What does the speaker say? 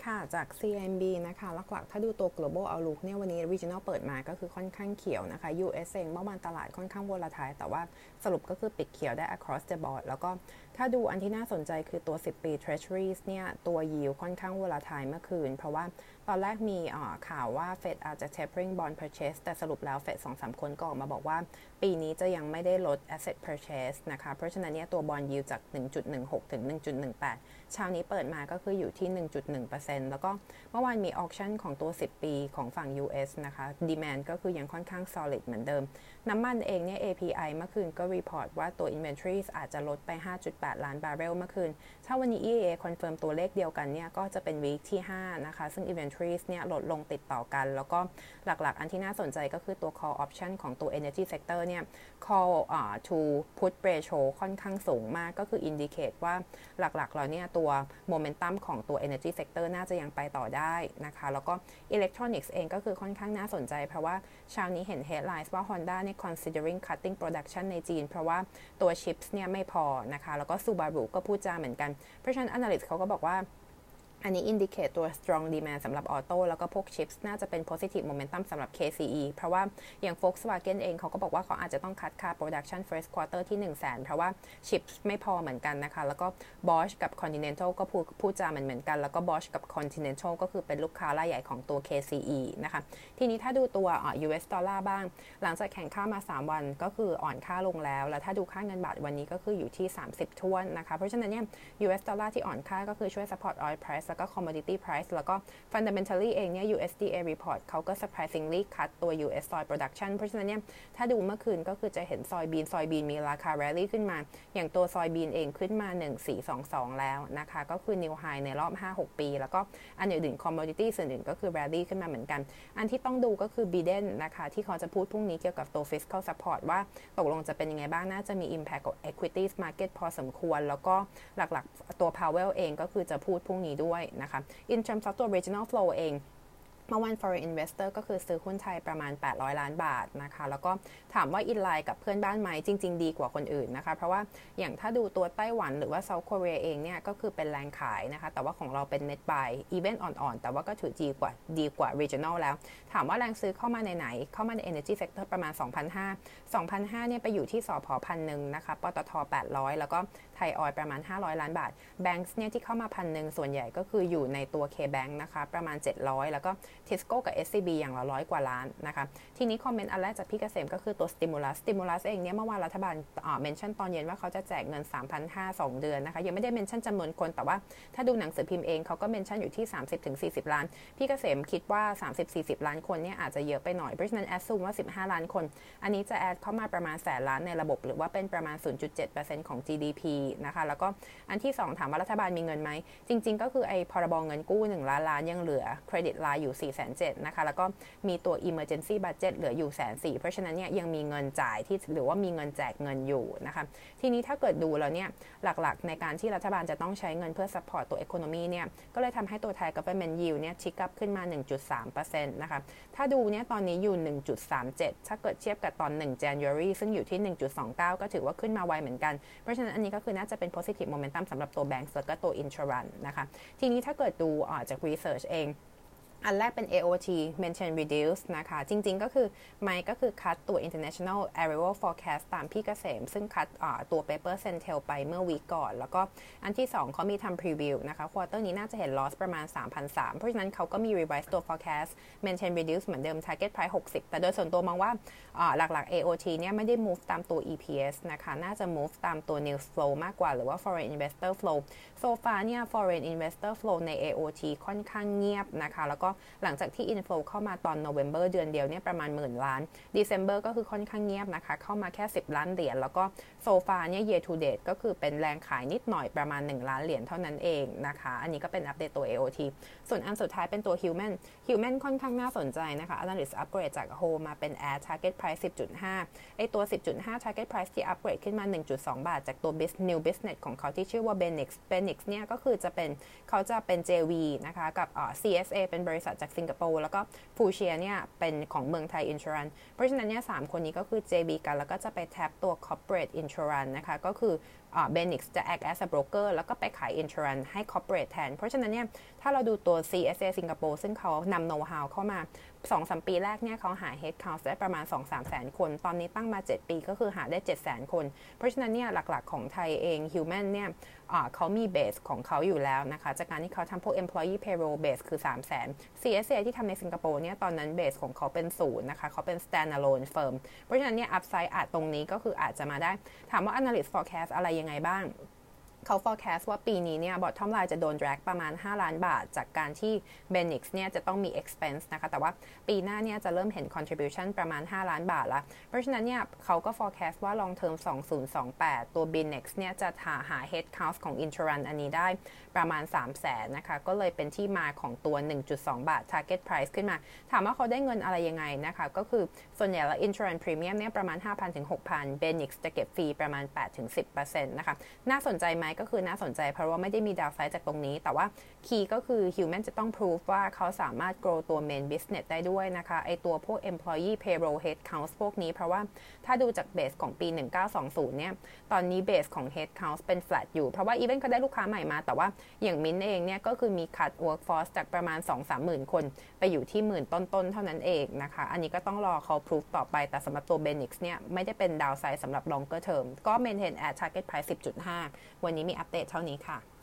ค่ะจาก CMB นะคะหลักๆถ้าดูตัว global outlook เนี่ยวันนี้ regional เปิดมาก็คือค่อนข้างเขียวนะคะ US เองเมื่อวานตลาดค่อนข้าง volatile แต่ว่าสรุปก็คือปิดเขียวได้ across the board แล้วก็ถ้าดูอันที่น่าสนใจคือตัว10ปี Treasuries เนี่ยตัว yield ค่อนข้าง volatile เมื่อคืนเพราะว่าตอนแรกมีข่าวว่า Fed อาจจะ tapering bond purchase แต่สรุปแล้ว Fed 2-3 คนก็ออกมาบอกว่าปีนี้จะยังไม่ได้ลด asset purchase นะคะเพราะฉะนั้นเนี่ยตัว bond yield จาก 1.16 ถึง 1.18 เช้านี้เปิดมาก็คืออยู่ที่ 1.1% แล้วก็เมื่อวานมี auction ของตัว10ปีของฝั่ง US นะคะ demand ก็คือยังค่อนข้าง solid เหมือนเดิมน้ำมันเองเนี่ย API เมื่อคืนก็ report ว่าตัว inventories อาจจะลดไป 5.8 ล้านบาร์เรลเมื่อคืนถ้าวันนี้ EIA confirm ตัวเลขเดียวกันเนี่ยก็จะเป็น week ที่5นะคะซึ่ง inventories เนี่ยลดลงติดต่อกันแล้วก็หลักๆอันที่น่าสนใจก็คือตัว call option ของตัว energy sector เนี่ย call to put ratio ค่อนข้างสูงมากก็คือ indicate ว่าหลักๆแล้วเนี่ยตัว momentum ของตัว energy sector น่าจะยังไปต่อได้นะคะแล้วก็ electronics เองก็คือค่อนข้างน่าสนใจเพราะว่าเช้านี้เห็น headlines ว่า Honda เนี่ย considering cutting production ในจีนเพราะว่าตัว chips เนี่ยไม่พอนะคะแล้วก็ Subaru ก็พูดจาเหมือนกันเพราะฉะนั้น analyst เขาก็บอกว่าอันนี้ indicate ตัว strong demand สำหรับออโต้แล้วก็พวก chips น่าจะเป็น positive momentum สำหรับ KCE เพราะว่าอย่าง Volkswagen เองเขาก็บอกว่าเขาอาจจะต้องคัดค่า production first quarter ที่ 100,000 เพราะว่า chips ไม่พอเหมือนกันนะคะแล้วก็ Bosch กับ Continental ก็พูดจาเหมือนกันแล้วก็ Bosch กับ Continental ก็คือเป็นลูกค้ารายใหญ่ของตัว KCE นะคะทีนี้ถ้าดูตัว US ดอลลาร์บ้างหลังจากแข่งค่ามา3วันก็คืออ่อนค่าลงแล้วถ้าดูค่าเงินบาทวันนี้ก็คืออยู่ที่30ถ้วนนะคะเพราะฉะนั้นเนี่ย US ดอลลาร์ที่อ่อนค่าก็คือช่วย support oil priceแล้วก็ commodity price แล้วก็ fundamentally เองเนี่ย USDA report เขาก็ surprisingly cut ตัว US soy production เพราะฉะนั้นเนี่ยถ้าดูเมื่อคืนก็คือจะเห็นซอยบีนมีราคา rally ขึ้นมาอย่างตัวซอยบีนเองขึ้นมา1422แล้วนะคะก็คือ new high ในรอบ 5-6 ปีแล้วก็อันอื่น commodity ส่วนอื่นก็คือ rally ขึ้นมาเหมือนกันอันที่ต้องดูก็คือ Biden นะคะที่เขาจะพูดพรุ่งนี้เกี่ยวกับตัว fiscal support ว่าตกลงจะเป็นยังไงบ้างน่าจะมี impact กับ equities market พอสมควรแล้วก็หลักๆตัว Powell เองก็คือจะพูดพรุ่งนี้ด้วยนะคะ in terms of ตัว regional flow เองเมื่อวัน foreign investor ก็คือซื้อหุ้นไทยประมาณ800ล้านบาทนะคะแล้วก็ถามว่าอินไลน์กับเพื่อนบ้านไหมจริงๆดีกว่าคนอื่นนะคะเพราะว่าอย่างถ้าดูตัวไต้หวันหรือว่า South Korea เองเนี่ยก็คือเป็นแรงขายนะคะแต่ว่าของเราเป็น net buy even อ่อนๆแต่ว่าก็ถือดีกว่า regional แล้วถามว่าแรงซื้อเข้ามาในไหนเข้ามาใน energy sector ประมาณ 2,500 เนี่ยไปอยู่ที่สผ1,000นะคะปตท800แล้วก็ไทยออยล์ประมาณ500ล้านบาท Banks เนี่ยที่เข้ามา1,000ส่วนใหญ่ก็คืออยู่ในตัว K-Bank นะคะประมาณ700แล้วก็Tisco กับ SCB อย่างละ100 กว่าล้านนะคะทีนี้คอมเมนต์อันแรกจากพี่เกษมก็คือตัว stimulus เองเนี่ยเมื่อวานรัฐบาลเมนชั่นตอนเย็นว่าเขาจะแจกเงิน 3,500 2 เดือนนะคะยังไม่ได้เมนชั่นจำนวนคนแต่ว่าถ้าดูหนังสือพิมพ์เองเขาก็เมนชั่นอยู่ที่ 30-40 ล้านพี่เกษมคิดว่า 30-40 ล้านคนเนี่ยอาจจะเยอะไปหน่อยเพราะฉะนั้นแอดซูมว่า15ล้านคนอันนี้จะแอดเข้ามาประมาณ100,000 ล้านในระบบหรือว่าเป็นประมาณ 0.7% ของ GDP นะคะแล้วก็อันที่2ถามว่ารัฐบาลมีเงินไหมจริงๆก็คือไอ้พรบเงินกู้1 ล้านล้านยังเหลือเครดิตไลน์อยู่470,000นะคะแล้วก็มีตัว emergency budget เหลืออยู่140,000เพราะฉะนั้นเนี่ยยังมีเงินจ่ายที่หรือว่ามีเงินแจกเงินอยู่นะคะทีนี้ถ้าเกิดดูแล้วเนี่ยหลักๆในการที่รัฐบาลจะต้องใช้เงินเพื่อ support ตัว economy เนี่ยก็เลยทำให้ตัวไทย government yield เนี่ยชิกอัพขึ้นมา 1.3% นะคะถ้าดูเนี่ยตอนนี้อยู่ 1.37 ถ้าเกิดเทียบกับตอน1 January ซึ่งอยู่ที่ 1.29 ก็ถือว่าขึ้นมาไวเหมือนกันเพราะฉะนั้นอันนี้ก็คือน่าจะเป็น positive momentum สำหรับตัว banks แล้วก็ตัว insurance นะคะทีนี้ถ้าเกิดดูจาก research เองอันแรกเป็น AOT mention reduce นะคะจริงๆก็คือไม่ก็คือคัดตัว international arrival forecast ตามพี่เกษมซึ่งคัดตัว paper Centel ไปเมื่อวีคก่อนแล้วก็อันที่2เขามีทำ preview นะคะ quarter นี้น่าจะเห็น loss ประมาณ 3,300 เพราะฉะนั้นเขาก็มี revise ตัว forecast mention reduce เหมือนเดิม target price 60แต่โดยส่วนตัวมองว่าหลักๆ AOT เนี่ยไม่ได้ move ตามตัว EPS นะคะน่าจะ move ตามตัว news flow มากกว่าหรือว่า foreign investor flow so far เนี่ย foreign investor flow ใน AOT ค่อนข้างเงียบนะคะแล้วก็หลังจากที่ inflow เข้ามาตอน November เดือนเดียวเนี่ยประมาณ10,000 ล้าน December ก็คือค่อนข้างเงียบนะคะเข้ามาแค่10 ล้านเหรียญแล้วก็ so far เนี่ย year to date ก็คือเป็นแรงขายนิดหน่อยประมาณ1 ล้านเหรียญเท่านั้นเองนะคะอันนี้ก็เป็นอัปเดตตัว AOT ส่วนอันสุดท้ายเป็นตัว Human ค่อนข้างน่าสนใจนะคะ Analyst upgrade จาก Hold มาเป็น Add Target Price 10.5 ไอตัว 10.5 Target Price ที่ upgrade ขึ้นมา 1.2 บาทจากตัว New Business ของเขาที่ชื่อว่า Benix เนี่ยก็คือเขาจะเป็น JV นะคะกับCSA เป็นบริษัทจากสิงคโปร์แล้วก็ฟูเชียเนี่ยเป็นของเมืองไทย Insurance เพราะฉะนั้นเนี่ย3คนนี้ก็คือ JV กันแล้วก็จะไปแท็บตัว Corporate Insurance นะคะก็คือ Benix จะ act as a broker แล้วก็ไปขาย insurance ให้ corporate แทนเพราะฉะนั้นเนี่ยถ้าเราดูตัว CSA สิงคโปร์ซึ่งเขานำ know-how เข้ามา 2-3 ปีแรกเนี่ยเขาหา head count ได้ประมาณ 2-3 แสนคนตอนนี้ตั้งมา 7 ปีก็คือหาได้ 700,000 คนเพราะฉะนั้นเนี่ยหลักๆของไทยเอง Human เนี่ยเขามี base ของเขาอยู่แล้วนะคะจากการที่เขาทำพวก employee payroll base คือ 300,000 CSA ที่ทำในสิงคโปร์เนี่ยตอนนั้น base ของเขาเป็น0นะคะเขาเป็น standalone firm เพราะฉะนั้นเนี่ย upside ตรงนี้ก็คืออาจจะมาได้ถามว่า analyst forecast อะไรยังไงบ้างเขา forecast ว่าปีนี้เนี่ย bottom line จะโดน drag ประมาณ5ล้านบาทจากการที่ Benix เนี่ยจะต้องมี expense นะคะแต่ว่าปีหน้าเนี่ยจะเริ่มเห็น contribution ประมาณ5ล้านบาทแล้วเพราะฉะนั้นเนี่ยเขาก็ forecast ว่า long term 2028 ตัว Benix เนี่ยจะหา head count ของ insurance อันนี้ได้ประมาณ 300,000 นะคะก็เลยเป็นที่มาของตัว 1.2 บาท target price ขึ้นมาถามว่าเขาได้เงินอะไรยังไงนะคะก็คือส่วนใหญ่แล้ว insurance premium เนี่ยประมาณ 5,000 ถึง 6,000 Benix จะเก็บฟรีประมาณ 8-10% นะคะน่าสนใจไหมก็คือน่าสนใจเพราะว่าไม่ได้มีดาวไซด์จากตรงนี้แต่ว่าคีย์ก็คือ Human จะต้อง prove ว่าเขาสามารถ grow ตัว main business ได้ด้วยนะคะไอตัวพวก employee payroll head count พวกนี้เพราะว่าถ้าดูจาก base ของปี 1920 เนี่ยตอนนี้ base ของ head count เป็น flat อยู่เพราะว่า even เขาได้ลูกค้าใหม่มาแต่ว่าอย่างมิ้นเองเนี่ยก็คือมี cut workforce จากประมาณ 2-3 หมื่นคนไปอยู่ที่หมื่นต้นๆเท่านั้นเองนะคะอันนี้ก็ต้องรอเขา prove ต่อไปแต่สำหรับตัว Benix เนี่ยไม่ได้เป็น downside สำหรับ longer term ก็ maintain at target price 10.5 วันนี้มีอัปเดตเท่านี้ค่ะ